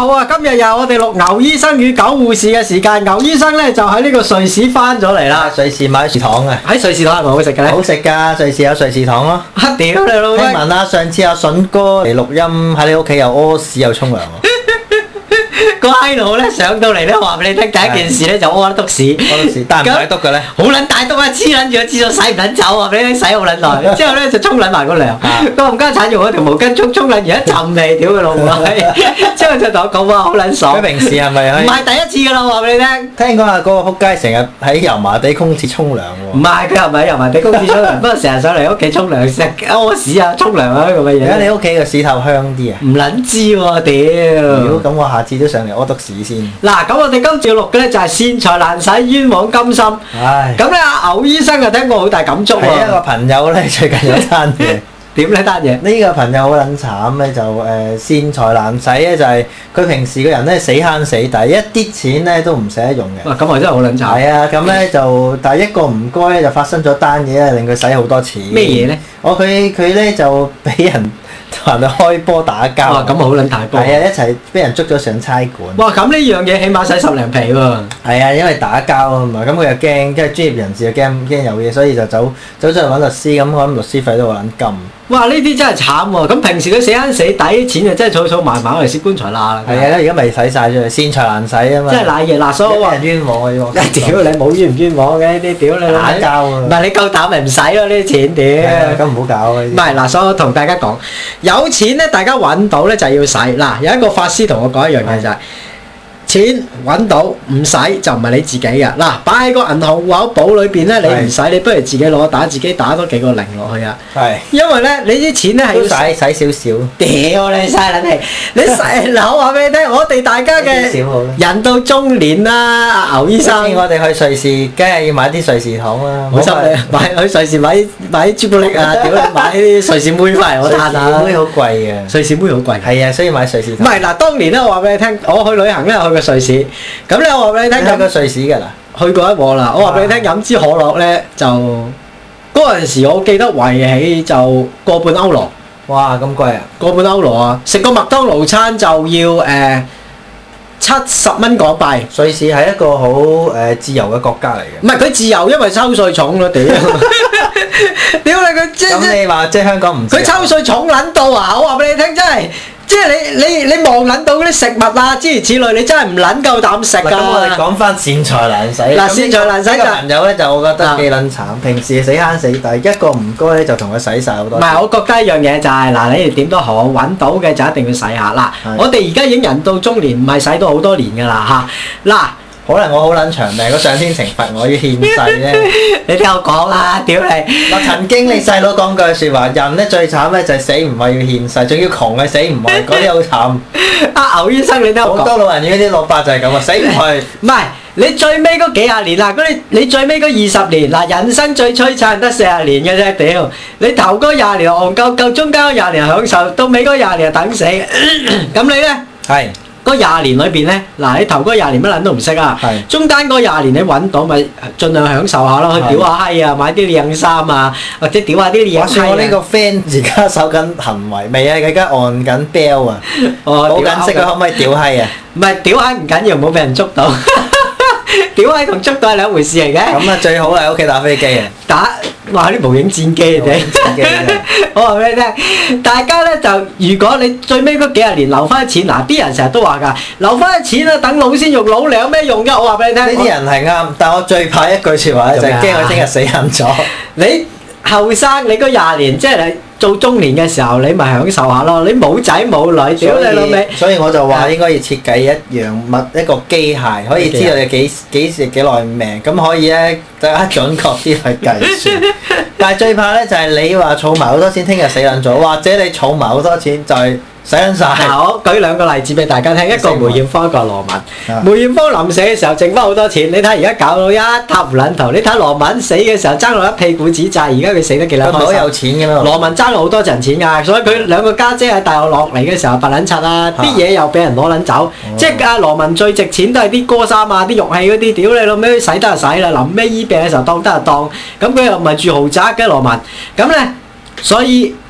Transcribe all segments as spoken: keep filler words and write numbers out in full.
好啊！今日又我哋錄牛醫生與狗護士嘅時間，牛醫生咧就喺呢個瑞士翻咗嚟啦。 瑞士買瑞士糖啊！ 喺瑞士糖係咪好食嘅咧？ 好食㗎，瑞士有瑞士糖咯。 啊屌你老味！ 聽聞啊，上次阿筍哥嚟錄音喺你屋企又屙屎又沖涼喎。 個閪佬咧上到嚟咧話俾你聽，第一件事咧就屙得篤屎。 屙篤屎，但係唔使篤嘅咧。 好撚大篤啊！黐撚住個廁所洗唔撚走啊！俾你洗好撚耐，之後咧就沖撚埋個涼。個冚家鏟用嗰條毛巾沖沖撚完一陣味，屌佢老母閪！之後就同我講話好撚爽。 佢平時係咪可以？ 唔係第一次㗎啦，話俾你聽。 聽講啊，嗰個撲街成日喺油麻地公廁沖涼喎。 唔係，佢又唔係油麻地公廁沖涼，不過成日上嚟屋企沖涼食屙屎啊、沖涼啊咁嘅嘢。 而家你屋企個屎頭香啲啊？ 唔撚知喎，屌！ 如果咁，我下次都上嚟屙篤屎先。 嗱，咁我哋今次要錄嘅咧就係善財難使冤枉甘心。 唉。 咁咧，阿牛醫生啊聽過好大感觸喎。 係一個朋友咧，最近有單嘢。 點呢單嘢？ 呢個朋友好撚慘咧，就誒善財難使咧，就係佢平時個人咧死慳死抵，一啲錢咧都唔捨得用嘅。 哇！咁我真係好撚慘。 係啊，咁咧就但係一個唔該咧，就發生咗單嘢咧，令佢使好多錢。 咩嘢咧？ 我佢佢咧就俾人同人哋開波打交。 哇！咁好撚大波。 係啊，一齊俾人捉咗上差館。 哇！咁呢樣嘢起碼使十零皮喎。 係啊，因為打交啊嘛，咁佢又驚，即係專業人士又驚驚有嘢，所以就走走咗去揾律師，咁我諗律師費都好撚金。哇！ 呢啲真係慘喎！咁平時佢死慳死抵啲錢就真係儲儲埋埋嚟蝕棺材罅啦。 係啊，而家咪使晒咗，善財難使啊嘛。 真係賴嘢嗱，所以話人冤枉啊！呢個。 屌你冇冤唔冤枉嘅呢啲，屌你打交啊！ 唔係你夠膽咪唔使咯呢啲錢，屌！ 咁唔好搞啊！ 唔係嗱，所以我同大家講，有錢咧，大家揾到咧就係要使。嗱，有一個法師同我講一樣嘢就係。錢揾到唔使就唔係你自己嘅。嗱，擺喺個銀行戶口簿裏邊咧，你唔使，你不如自己攞打，自己打多幾個零落去啊。係。因為咧，你啲錢咧係要使使少少。 屌你嘥撚氣！你使嗱，我話俾你聽，我哋大家嘅人到中年啦，阿牛醫生。 我哋去瑞士，梗係要買啲瑞士糖啦。 冇錯，買去瑞士買買啲朱古力啊，屌你買啲瑞士妹翻嚟我嘆下。瑞士妹好貴嘅。瑞士妹好貴。係啊，所以買瑞士糖。 唔係嗱，當年咧，我話俾你聽，我去旅行咧，去瑞士，咁咧我話俾你聽， 去過瑞士㗎啦， 去過一鑊啦。我話俾你聽，飲支可樂咧就嗰陣時，我記得圍起就個半歐羅。 哇，咁貴啊！個半歐羅啊！食個麥當勞餐就要誒七十蚊港幣。 瑞士係一個好誒自由嘅國家嚟嘅。 唔係佢自由，因為收稅重咯，屌！屌你佢即係咁你話即係香港唔？ 佢抽稅重撚到啊！我話俾你聽，真係。即係你你你望撚到嗰啲食物啊，諸如此類，你真係唔撚夠膽食㗎。 咁我哋講翻善財難使。嗱， 善財難使就朋友咧就我覺得幾撚慘，平時死慳死抵，一個唔該咧就同佢使晒好多。 唔係，我覺得一樣嘢就係嗱，你哋點都好揾到嘅就一定要使下嗱。我哋而家已經人到中年，唔係使到好多年㗎啦嚇嗱。 可能我好撚長命，個上天懲罰我要獻世咧。 你聽我講啦，屌你！ 嗱，曾經你細佬講句説話，人咧最慘咧就係死唔為要獻世，仲要窮嘅死唔為，嗰啲好慘。阿牛醫生，你聽我講。 好多老人院啲老伯就係咁啊，死唔去。 唔係，你最尾嗰幾廿年嗱，嗰你你最尾嗰二十年嗱，人生最璀璨得四十年嘅啫，屌！你頭嗰廿年戇鳩鳩，中間嗰廿年享受，到尾嗰廿年等死。咁你咧？係。嗰廿年裏邊咧，嗱你頭嗰廿年乜撚都唔識啊，中間嗰廿年你揾到咪盡量享受下咯，去屌下閪啊，買啲靚衫啊，或者屌下啲靚閪啊。 我呢個 friend 而家守緊行為未啊？佢而家按緊 bell 啊，好緊識啊，可唔可以屌閪啊？ 唔係屌閪唔緊要，唔好俾人捉到。屌閪同捉到係兩回事嚟嘅。咁啊最好係喺屋企打飛機啊！ 打哇啲無影戰機嚟嘅。我話俾你聽，大家咧就如果你最尾嗰幾十年留翻啲錢，嗱啲人成日都話㗎，留翻啲錢啊，等老鮮肉老嚟有咩用㗎？我話俾你聽。 呢啲人係啱，但我最怕一句説話咧，就係驚佢聽日死硬咗。 你後生，你嗰廿年即係你做中年嘅時候，你咪享受下咯。你冇仔冇女，屌你老味！ 所以我就話應該要設計一樣物一個機械，可以知道你幾幾時幾耐命，咁可以咧更加準確啲去計算。但係最怕咧就係你話儲埋好多錢，聽日死撚咗，或者你儲埋好多錢就係使緊晒。 我舉兩個例子俾大家聽，一個梅艷芳，一個羅文。梅艷芳臨死嘅時候剩翻好多錢，你睇而家搞到一塌糊撚頭。你睇羅文死嘅時候爭落一屁股紙債，而家佢死得幾撚開心。 佢好有錢㗎嘛。 羅文爭好多陣錢㗎，所以佢兩個家姐喺大陸落嚟嘅時候白撚柒啦，啲嘢又俾人攞撚走。即係阿羅文最值錢都係啲歌衫啊、啲玉器嗰啲，屌你老味使得就使啦，臨尾醫病嘅時候當得就當。咁佢又唔係住豪宅嘅羅文，咁咧所以佢。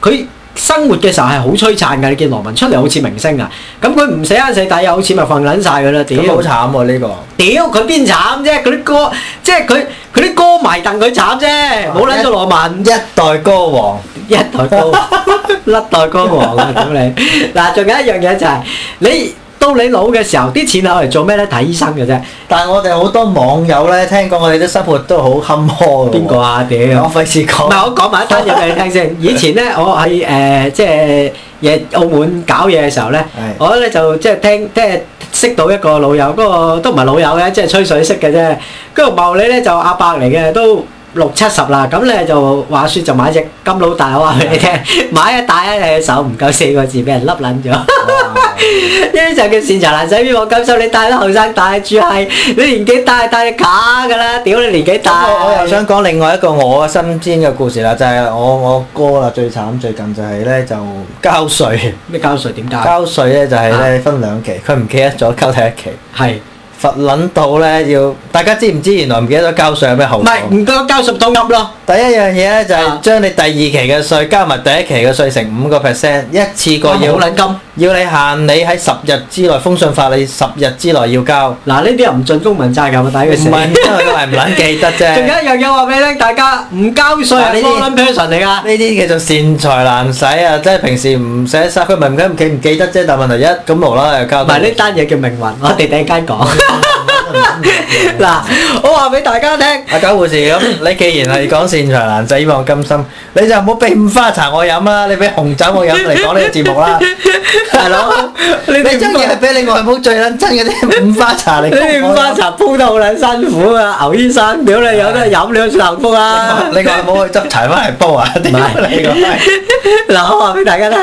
生活嘅時候係好璀璨㗎，你見羅文出嚟好似明星啊！咁佢唔死慳死抵，有錢咪瞓撚晒㗎啦！屌， 好慘喎呢個！ 屌佢邊慘啫？嗰啲歌即係佢佢啲歌迷戥佢慘啫，冇撚咗羅文一代歌王， 一代歌王，甩代歌王啊！屌你！嗱，仲有一樣嘢就係你。到你老嘅時候，啲錢攞嚟做咩咧？睇醫生嘅啫。 但係我哋好多網友咧，聽講我哋啲生活都好坎坷嘅。 邊個啊？屌！ 我費事講。 唔係我講埋一單嘢俾你聽先。以前咧，我喺誒即係嘢澳門搞嘢嘅時候咧，我咧就即係聽即係識到一個老友，嗰個都唔係老友嘅，即係吹水識嘅啫。嗰個茂利咧就阿伯嚟嘅，都六七十啦。咁咧就話説就買隻金佬大，我話俾你聽，買一戴喺你手唔夠四個字，俾人笠撚咗。呢啲就叫善財難捨，邊往金收？你帶得後生帶住係，你年紀大帶你假㗎啦！屌你年紀大。 我又想講另外一個我身邊嘅故事啦，就係、是、我我哥啦，最慘最近就係咧就交稅。 咩交稅？點交？ 交稅咧就係咧分兩期，佢唔記得咗交第一期。係。罰撚到咧要，大家知唔知原來唔記得咗交稅有咩後果？唔係唔該交十當噏咯。第一樣嘢咧就係將你第二期嘅稅加埋第一期嘅稅乘五個 percent， 一次過要。好撚金。要你限你喺十日之內封信法，你十日之內要交。嗱呢啲又唔盡公民責任啊！抵佢死。唔係，因為佢係唔撚記得啫。仲有一樣嘢話俾你聽，大家唔交稅係 wrong person 嚟㗎。呢啲叫做善財難使啊！即係平時唔寫曬，佢唔係唔記唔記得啫，但問題一咁無啦啦又交。唔係呢單嘢叫命運，我哋第一間講。嗱，我話俾大家聽，阿九護士咁，你既然係講善財難捨，希望甘心，你就唔好俾五花茶我飲啦，你俾紅酒我飲嚟講呢個節目啦，大佬，你真係俾你外母最撚憎嗰啲五花茶嚟。呢啲五花茶煲得好撚辛苦啊，牛醫生，屌你有得飲你就幸福啊！你外母去執柴翻嚟煲啊？唔係你個，嗱我話俾大家聽。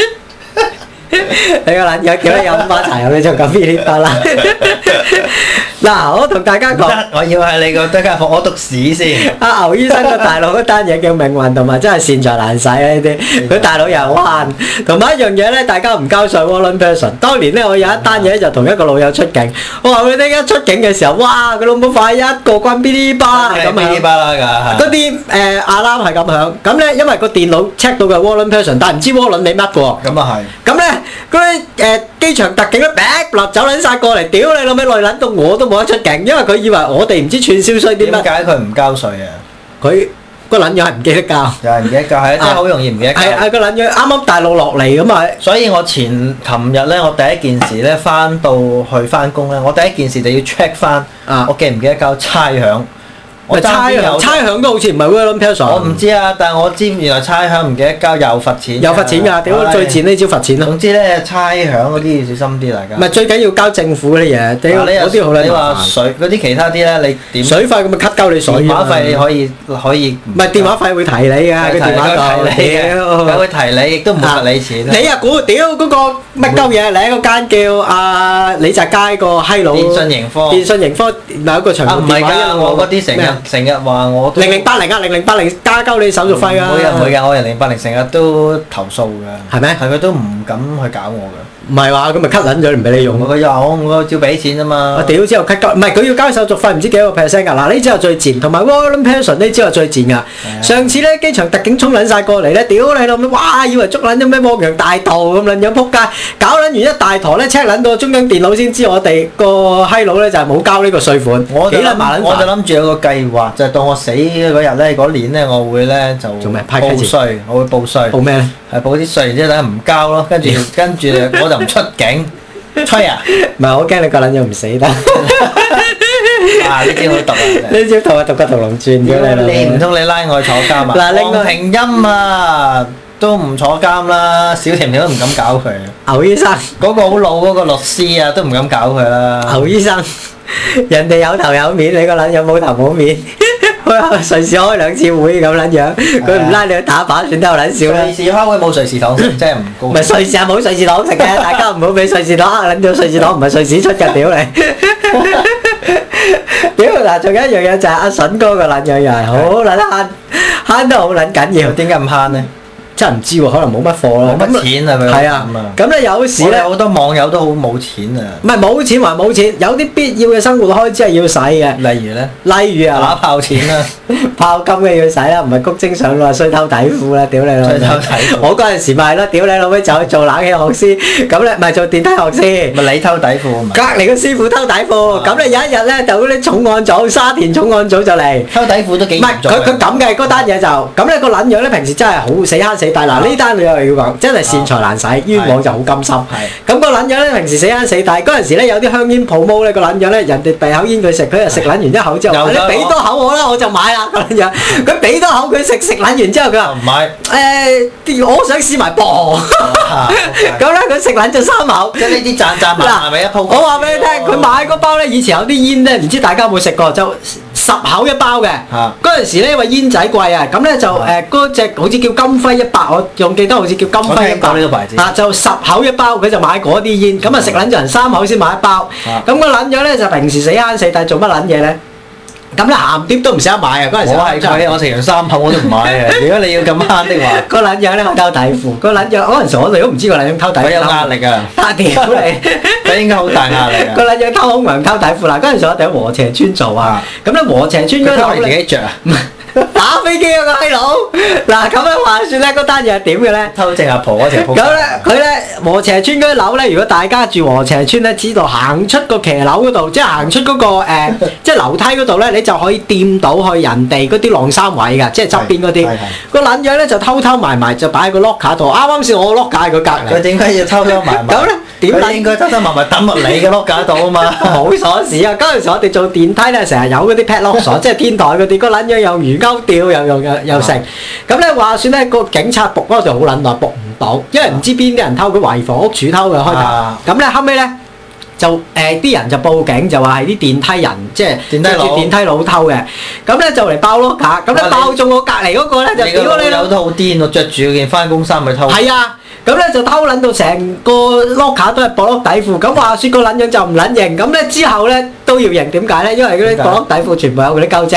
你個撚樣叫你飲五花茶飲你就咁邊啲得啦？嗱，我同大家講，我要係你個對家伙，我讀屎先。阿牛醫生個大佬嗰單嘢叫命運，同埋真係善財難捨啊！呢啲佢大佬又慳，同埋一樣嘢咧，大家唔交稅 wrong person。當年咧，我有一單嘢就同一個老友出境，我話佢哋一出境嘅時候，哇！佢老母快一個關嗶哩吧咁樣，嗶哩吧啦㗎，嗰啲誒阿攬係咁響。咁咧，因為個電腦 check 到嘅 wrong person，但係唔知 wrong 你乜喎。咁啊係。咁咧嗰啲誒機場特警咧，劈落走撚曬過嚟，屌你老味，累撚到我都冇得出境，因為佢以為我哋唔知串燒衰啲乜。點解佢唔交稅啊？佢個撚樣係唔記得交。有人唔記得交，係真係好容易唔記得交。係係個撚樣啱啱大陸落嚟咁啊！所以我前琴日咧，我第一件事咧翻到去翻工咧，我第一件事就要 check 翻，我記唔記得交差餉。我差餉差餉都好似唔係 wrong person。我唔知啊，但係我知原來差餉唔記得交又罰錢。有罰錢㗎，屌最賤呢招罰錢咯。總之咧，差餉嗰啲要小心啲，大家。唔係最緊要交政府嗰啲嘢，屌嗰啲好撚麻煩。你話水嗰啲其他啲咧，你點？水費咁咪 cut 鳩你水。電話費你可以可以。唔係電話費會提你㗎，個電話度。提你嘅，佢會提你，亦都唔會罰你錢。你啊估屌嗰個乜鳩嘢？你喺嗰間叫阿李澤楷個閪佬。電訊盈科。電訊盈科有一個長途電話。唔係㗎，我嗰啲成日。成日話我零零八零啊，零零八零加交你手續費啊！唔會啊，唔會㗎，我零零八零成日都投訴㗎。係咩？係佢都唔敢去搞我㗎。唔係話咁咪 cut 撚咗，唔俾你用。佢又我我照俾錢啫嘛。我屌之後 cut 交，唔係佢要交手續費，唔知幾多個 percent 㗎。嗱呢之後最賤，同埋 wrong person 呢之後最賤㗎。上次咧機場特警衝撚曬過嚟咧，屌你老味，哇！以為捉撚咗咩汪洋大盜咁撚樣撲街，搞撚完一大坨咧 check 撚到中央電腦先知我哋個閪佬咧就係冇交呢個稅款。我就諗我就諗住有個計劃，就係到我死嗰日咧，嗰年咧我會咧就做咩？報稅，我會報稅。報咩咧？係報啲稅，然之後等下唔交咯，跟住跟住我就唔出境。吹啊！唔係我驚你個撚樣唔死得。啊！呢招好毒啊！呢招同我讀個屠龍傳嘅你。你唔通你拉我去坐監啊？嗱，黃平音啊都唔坐監啦，小甜甜都唔敢搞佢。牛醫生嗰個好老嗰個律師啊，都唔敢搞佢啦。牛醫生，人哋有頭有面，你個撚樣冇頭冇面。隨時開兩次會咁撚樣，佢唔拉你去打靶，算得好撚少啦。隨時開會冇隨時糖食，真係唔高。唔係隨時係冇隨時糖食嘅，大家唔好俾隨時糖呃撚咗，隨時糖唔係隨時出嘅，屌你！屌嗱，仲有一樣嘢就係阿筍哥個撚樣又係好撚慳，慳得好撚緊要。點解咁慳咧？ 真係唔知喎，可能冇乜貨咯。 冇乜錢啊佢。 係啊，咁咧有時咧好多網友都好冇錢啊。唔係冇錢還冇錢，有啲必要嘅生活開支係要使嘅。 例如咧？ 例如啊， 打炮錢啦， 炮金嘅要使啦，唔係谷精上腦，衰偷底褲啦，屌你老味！ 衰偷底褲。 我嗰陣時咪係咯，屌你老味就去做冷氣學師，咁咧咪做電梯學師。 咪你偷底褲啊？ 隔離個師傅偷底褲，咁咧有一日咧就嗰啲重案組，沙田重案組就嚟。 偷底褲都幾嚴重。 唔係佢佢咁嘅嗰單嘢就，咁咧個撚樣咧平時真係好死慳死抵。嗱呢單你又要講，真係善財難使，冤枉就好甘心。咁個撚樣咧平時死慳死抵，嗰陣時咧有啲香煙鋪毛咧個撚樣咧，人哋遞口煙佢食，佢就食撚完一口之後，你俾多口我啦，我就買啦個撚樣。佢俾多口佢食，食撚完之後佢話唔買。 誒，我想試埋噃。咁咧佢食撚咗三口。 即係呢啲賺賺埋係咪一鋪？ 我話俾你聽，佢買嗰包咧，以前有啲煙咧，唔知大家有冇食過，就十口一包嘅。嗰陣時咧，因為煙仔貴啊，咁咧就誒嗰隻好似叫金輝一百，我仲記得好似叫金輝一百。 呢個牌子。 啊，就十口一包，佢就買嗰啲煙，咁啊食撚咗人三口先買一包。咁個撚咗咧就平時死慳死抵做乜撚嘢咧？咁咧鹹碟都唔捨得買啊！嗰陣時我係佢，我食完三口我都唔買啊！如果你要咁慳的話， 個撚樣咧我偷底褲，個撚樣嗰陣時我哋都唔知個撚樣偷底褲。 佢有壓力啊！ 打屌你！ 佢應該好大壓力啊！ 個撚樣偷空糧偷底褲嗱，嗰陣時我哋喺禾輋村做啊，咁咧禾輋村嗰度自己着啊！ 打飛機啊個閪佬！嗱咁樣話説咧，嗰單嘢係點嘅咧？ 偷正阿婆嗰條鋪。 咁咧，佢咧禾輋村嗰啲樓咧，如果大家住禾輋村咧，知道行出個騎樓嗰度，即係行出嗰個誒，即係樓梯嗰度咧，你就可以掂到去人哋嗰啲晾衫位㗎，即係側邊嗰啲。個撚樣咧就偷偷埋埋就擺喺個 locker 度，啱啱先我 locker 喺佢隔離。 佢點解要偷偷埋埋？ 咁咧點解？ 佢應該偷偷埋埋抌落你嘅 locker 度啊嘛。 冇鎖匙啊！嗰陣時我哋做電梯咧，成日有嗰啲 padlock鎖，即係天台嗰啲。個撚樣又魚鈎吊又用。又又成，咁咧話説咧個警察仆嗰度好撚耐仆唔到，因為唔知邊啲人偷，佢懷疑房屋署偷嘅開頭。咁咧後尾咧就誒啲人就報警，就話係啲電梯人，即係電梯佬電梯佬偷嘅。咁咧就嚟爆咯架，咁咧爆中我隔離嗰個咧就屌你老！ 都好癲喎，著住件翻工衫去偷。 係啊，咁咧就偷撚到成個 locker 都係薄底褲。咁話説個撚樣就唔撚認，咁咧之後咧都要認，點解咧？因為嗰啲薄底褲全部有嗰啲鳩精。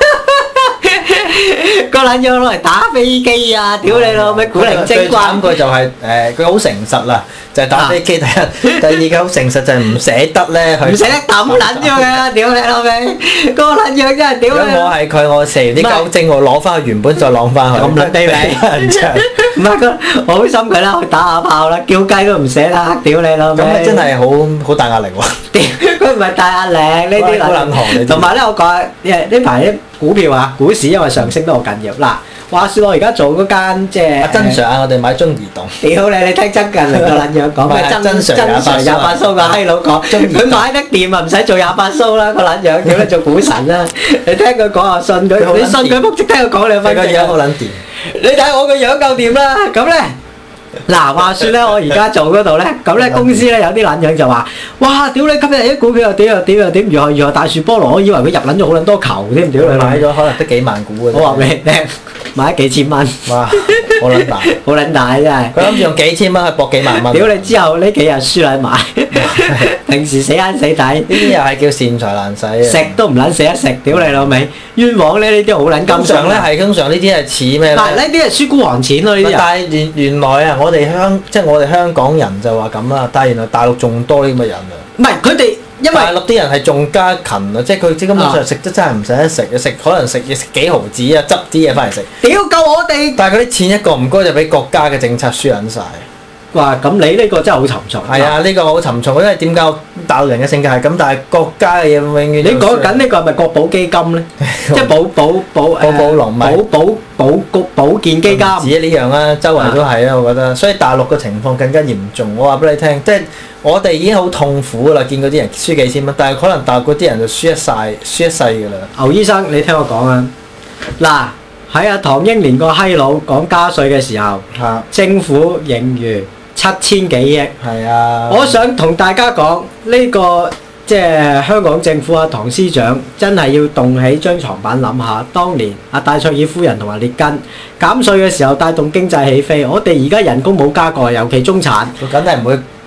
個撚樣攞嚟打飛機啊！屌你老味，古靈精怪。 最慘佢就係誒，佢好誠實啦，就係打飛機。第一，第二佢好誠實就係唔捨得咧，佢唔捨得抌撚咗佢啦！屌你老味，個撚樣真係屌你！ 如果我係佢，我射完啲鳩精，我攞翻去原本再攞翻去。 咁撚卑鄙！唔係佢，我好心佢啦，去打下炮啦，叫雞都唔捨得，屌你老味！ 咁真係好好大壓力喎！ 屌，佢唔係大壓力，呢啲好撚寒。 同埋咧，我講誒呢排啲股票啊，股市因為上升都好緊要。嗱，話説我而家做嗰間即係。阿曾 Sir 啊，我哋買中移動。 屌你！你聽曾近嚟個撚樣講咩？曾曾 Sir 廿八蘇個閪佬講，佢買得掂啊，唔使做廿八蘇啦個撚樣，叫佢做股神啦。你聽佢講啊，信佢，你信佢仆，即聽佢講兩分鐘。 個樣好撚掂。 你睇我個樣夠掂啦，咁咧。嗱，話説咧，我而家做嗰度咧，咁咧公司咧有啲撚樣就話：哇！屌你，今日啲股票又點又點又點，如何如何大樹菠蘿，我以為佢入撚咗好撚多球添，屌你！ 買咗可能得幾萬股嘅。 我話俾你聽，買咗幾千蚊。 哇！好撚大， 好撚大真係。 佢諗住用幾千蚊去搏幾萬蚊。 屌你！之後呢幾日輸撚埋，平時死慳死抵。呢啲又係叫善財難使啊！ 食都唔撚捨得食，屌你老味！冤枉咧，呢啲好撚金。 通常咧係通常呢啲係似咩咧？ 嗱，呢啲係輸孤寒錢咯，呢啲。 但係原原來啊，我哋香即係我哋香港人就話咁啦，但係原來大陸仲多呢咁嘅人啊！ 唔係佢哋，因為大陸啲人係仲加勤啊，即係佢即係根本上食得真係唔捨得食，食可能食嘢食幾毫子啊，執啲嘢翻嚟食。 屌夠我哋！ 但係佢啲錢一個唔該就俾國家嘅政策輸緊曬。 哇！咁你呢個真係好沉重。 係啊，呢個好沉重，因為點解大陸人嘅性格係咁，但係國家嘅嘢永遠。 你講緊呢個係咪國保基金咧？即係保保保保保龍保保保局保健基金。唔止呢樣啦，周圍都係啊，我覺得。所以大陸嘅情況更加嚴重。我話俾你聽，即係我哋已經好痛苦啦，見嗰啲人輸幾千蚊，但係可能大陸嗰啲人就輸一晒，輸一世㗎啦。 牛醫生，你聽我講啊！嗱，喺阿唐英年個閪佬講加稅嘅時候， 啊、 政府盈餘七千幾億。 係啊！ 我想同大家講呢、呢個即係香港政府啊，唐司長真係要動起張床板諗下，當年阿戴卓爾夫人同埋列根減稅嘅時候帶動經濟起飛，我哋而家人工冇加過，尤其中產。 佢梗係唔會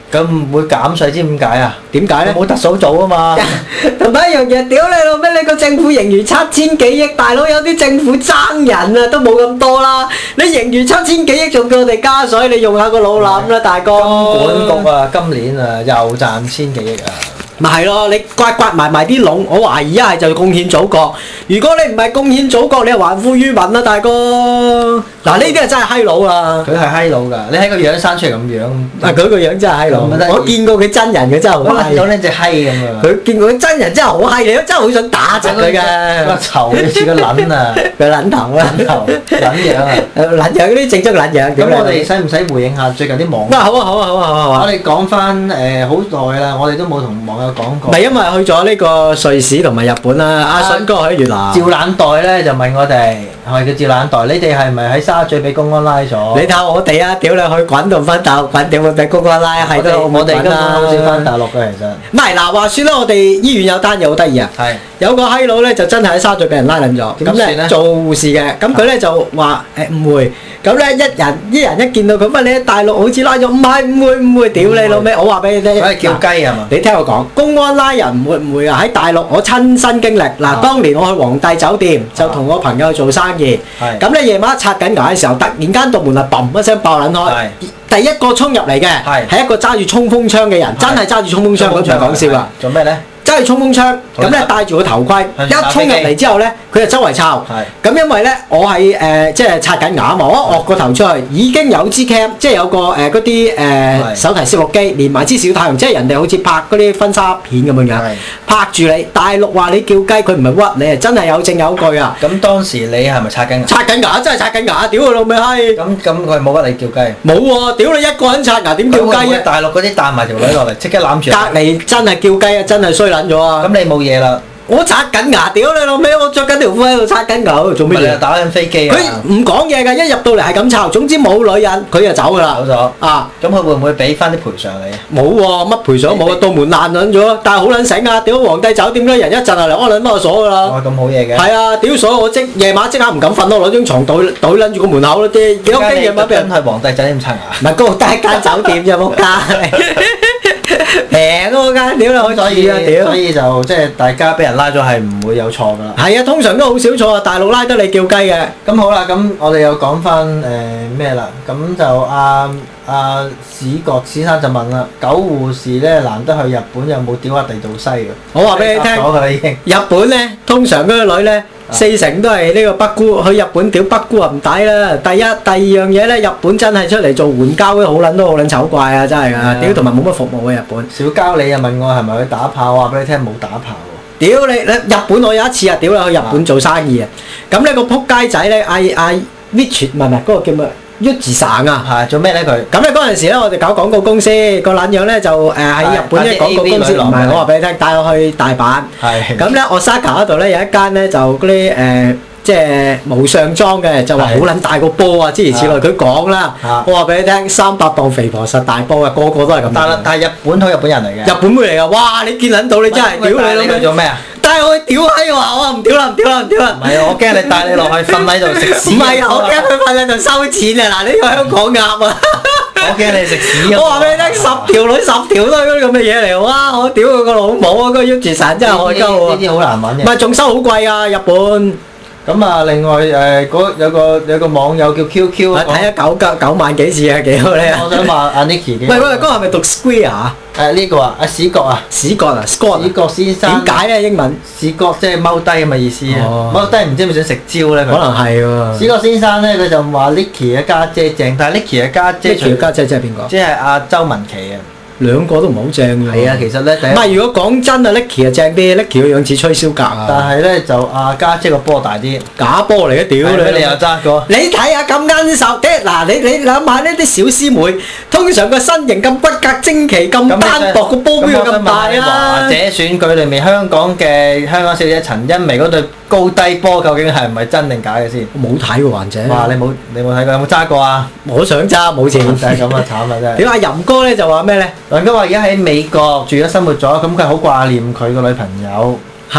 咁唔會減稅，知點解啊？ 點解咧？ 冇特首做啊嘛。 同埋一樣嘢，屌你老味！你個政府盈餘七千幾億，大佬有啲政府爭人啊，都冇咁多啦。你盈餘七千幾億，仲叫我哋加水，你用下個腦諗啦，大哥。 金管局啊，今年啊又賺千幾億啊！ 咪係咯，你刮刮埋埋啲窿，我懷疑一係就貢獻祖國。如果你唔係貢獻祖國，你係還富於民啦，大哥。嗱，呢啲係真係閪佬啦。 佢係閪佬㗎，你睇個樣生出嚟咁樣。 啊，佢個樣真係閪佬。我見過佢真人，佢真係好閪。 有呢隻閪咁啊！ 佢見過佢真人真係好閪，你都真係好想打窒佢㗎。 個頭似個撚啊！ 個撚頭啊！ 撚頭撚樣啊！ 撚樣嗰啲正宗撚樣。 咁我哋使唔使回應下最近啲網？ 啊好啊好啊好啊好啊！ 我哋講翻誒好耐啦，我哋都冇同網友講過。 唔係因為去咗呢個瑞士同埋日本啦，阿筍哥去越南。趙懶袋咧就問我哋，係叫趙懶袋，你哋係咪喺沙咀俾公安拉咗？ 你睇我哋啊！屌你去滾同翻大陸滾，屌會俾公安拉係都我哋根本好少翻大陸嘅其實。 唔係嗱，話説咧，我哋醫院有單嘢好得意啊。係。有個閪佬咧就真係喺沙咀俾人拉撚咗，咁咧做護士嘅，咁佢咧就話誒誤會，咁咧一人一人一見到佢，乜你喺大陸好似拉咗，唔係誤會誤會，屌你老味！我話俾你聽， 佢係叫雞係嘛？ 你聽我講，公安拉人唔會唔會啊！喺大陸我親身經歷，嗱，當年我去皇帝酒店就同我朋友做生意，咁咧夜晚刷緊牙嘅時候，突然間道門啊嘣一聲爆撚開，第一個衝入嚟嘅係一個揸住衝鋒槍嘅人，真係揸住衝鋒槍，嗰場講笑啊！ 做咩咧？ 揸住衝鋒槍，咁咧戴住個頭盔，一衝入嚟之後咧，佢就周圍抄。咁因為咧，我係誒即係刷緊牙啊嘛，我一惡個頭出去，已經有支 cam，即係有個誒嗰啲誒手提攝錄機，連埋支小太陽，即係人哋好似拍嗰啲婚紗片咁樣樣，拍住你。大陸話你叫雞，佢唔係屈你，係真係有證有據啊！ 咁當時你係咪刷緊牙？ 刷緊牙，真係刷緊牙，屌佢老味閪！ 咁咁佢冇屈你叫雞？ 冇喎，屌你一個人刷牙點叫雞啊？ 大陸嗰啲帶埋條女落嚟，即刻攬住。 隔離真係叫雞啊！真係衰撚咗啊！ 咁你冇嘢啦。 我刷緊牙，屌你老味！我着緊條褲喺度刷緊牙，做咩嘢？ 打緊飛機啊！ 佢唔講嘢㗎，一入到嚟係咁抄，總之冇女人，佢就走㗎啦。 走咗啊！ 咁佢會唔會俾翻啲賠償你？ 冇喎，乜賠償冇啊？道門爛撚咗，但係好撚醒啊！屌皇帝酒店嗰啲人一陣就嚟安撚翻個鎖㗎啦。 哇！咁好嘢嘅。係啊！屌鎖我即夜晚即刻唔敢瞓咯，攞張床袋袋撚住個門口咯啲。幾多驚夜晚俾人去皇帝酒店刷牙？ 唔係嗰度得一間酒店啫，冇間。平嗰間，屌你好在意啊！屌， 所以就即係大家俾人拉咗係唔會有錯噶啦。 係啊，通常都好少錯啊，大陸拉得你叫雞嘅。 咁好啦，咁我哋又講翻誒咩啦？咁就阿阿史國先生就問啦，狗護士咧難得去日本，有冇屌下地道西嘅？ 我話俾你聽， 咗㗎啦已經。 日本咧，通常嗰個女咧。四成都係呢個北姑，去日本屌北姑啊唔抵啦！第一、第二樣嘢咧，日本真係出嚟做援交嗰啲好撚都好撚醜怪啊！真係㗎，屌同埋冇乜服務嘅日本。 小膠你又問我係咪去打炮？我話俾你聽冇打炮喎。 屌你你日本我有一次啊，屌你去日本做生意啊，咁呢個撲街仔咧嗌嗌 Rich 唔係唔係嗰個叫咩？鬱字省啊， 係做咩咧佢？ 咁咧嗰陣時咧，我哋搞廣告公司，個撚樣咧就誒喺日本嘅廣告公司，唔係我話俾你聽，帶我去大阪。係。咁咧，Osaka嗰度咧有一間咧就嗰啲誒，即係無上裝嘅，就話好撚大個波啊，諸如此類。佢講啦，我話俾你聽，三百磅肥婆實大波啊，個個都係咁。但係但係日本好日本人嚟嘅。日本妹嚟噶，哇！你見撚到你真係屌你老味。做咩啊？帶我去屌閪話我唔屌啦唔屌啦唔屌啦！ 唔係啊，我驚你帶你落去瞓喺度食屎。 唔係啊，我驚佢瞓喺度收錢啊！嗱，呢個香港鴨啊！ 我驚你食屎。 我話俾你聽，十條女十條都係嗰啲咁嘅嘢嚟，哇！我屌佢個老母啊！嗰個 U 字神真係害鳩喎。 呢啲好難揾嘅。 唔係仲收好貴啊，日本。 咁啊，另外誒嗰有個有個網友叫 Q Q， 睇咗九九九萬幾次啊，幾好咧！ 我想話阿 Nicky 嘅。 喂喂，嗰個係咪讀 Square 啊？ 誒呢個啊，阿史國啊， 史國啊 ，Scott。史國先生。 點解咧？英文？ 史國即係踎低咁嘅意思啊！踎低唔知係咪想食蕉咧？ 可能係喎。史國先生咧，佢就話 Nicky 嘅家姐正，但係 Nicky 嘅家姐。 Nicky 嘅家姐即係邊個？ 即係阿周文琪啊！ 兩個都唔好正㗎。 係啊，其實咧， 唔係如果講真啊 ，Nicky 啊正啲 ，Nicky 個樣似吹簫格啊。 但係咧就阿家姐個波大啲， 假波嚟嘅屌你！ 你又揸過？ 你睇下咁奀手，啲嗱你你諗下呢啲小師妹，通常個身形咁骨骼精奇，咁單薄，個波邊有咁大啊？ 華姐選舉裏面香港嘅香港小姐陳茵媺嗰對高低波，究竟係唔係真定假嘅先？ 我冇睇過華姐。 哇！你冇你冇睇過？有冇揸過啊？ 我想揸，冇錢。 就係咁啊！慘啊！真係。 點解淫哥咧就話咩咧？ 林哥話而家喺美國住咗生活咗，咁佢好掛念佢個女朋友。 係。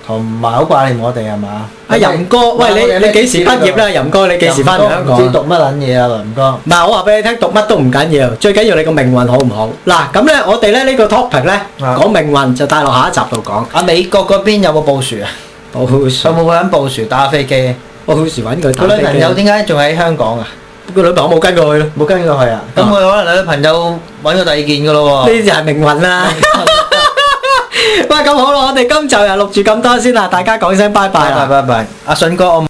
同埋好掛念我哋係嘛？ 阿任哥，喂你你幾時畢業咧？任哥你幾時翻嚟香港？ 唔知讀乜撚嘢啊，林哥。 唔係我話俾你聽，讀乜都唔緊要，最緊要你個命運好唔好？嗱咁咧，我哋咧呢個 topic 咧講命運就帶落下一集度講。 啊美國嗰邊有冇布殊啊？ 布殊有冇揾布殊打飛機？ 布殊揾佢打飛機。 佢女朋友點解仲喺香港啊？ 個女朋友冇跟過去咯， 冇跟過去啊？咁佢可能女朋友揾咗第二件㗎咯喎。 呢就係命運啦。喂，咁好啦，我哋今集又錄住咁多先啦，大家講聲拜拜啦。 拜拜拜拜，阿信哥我。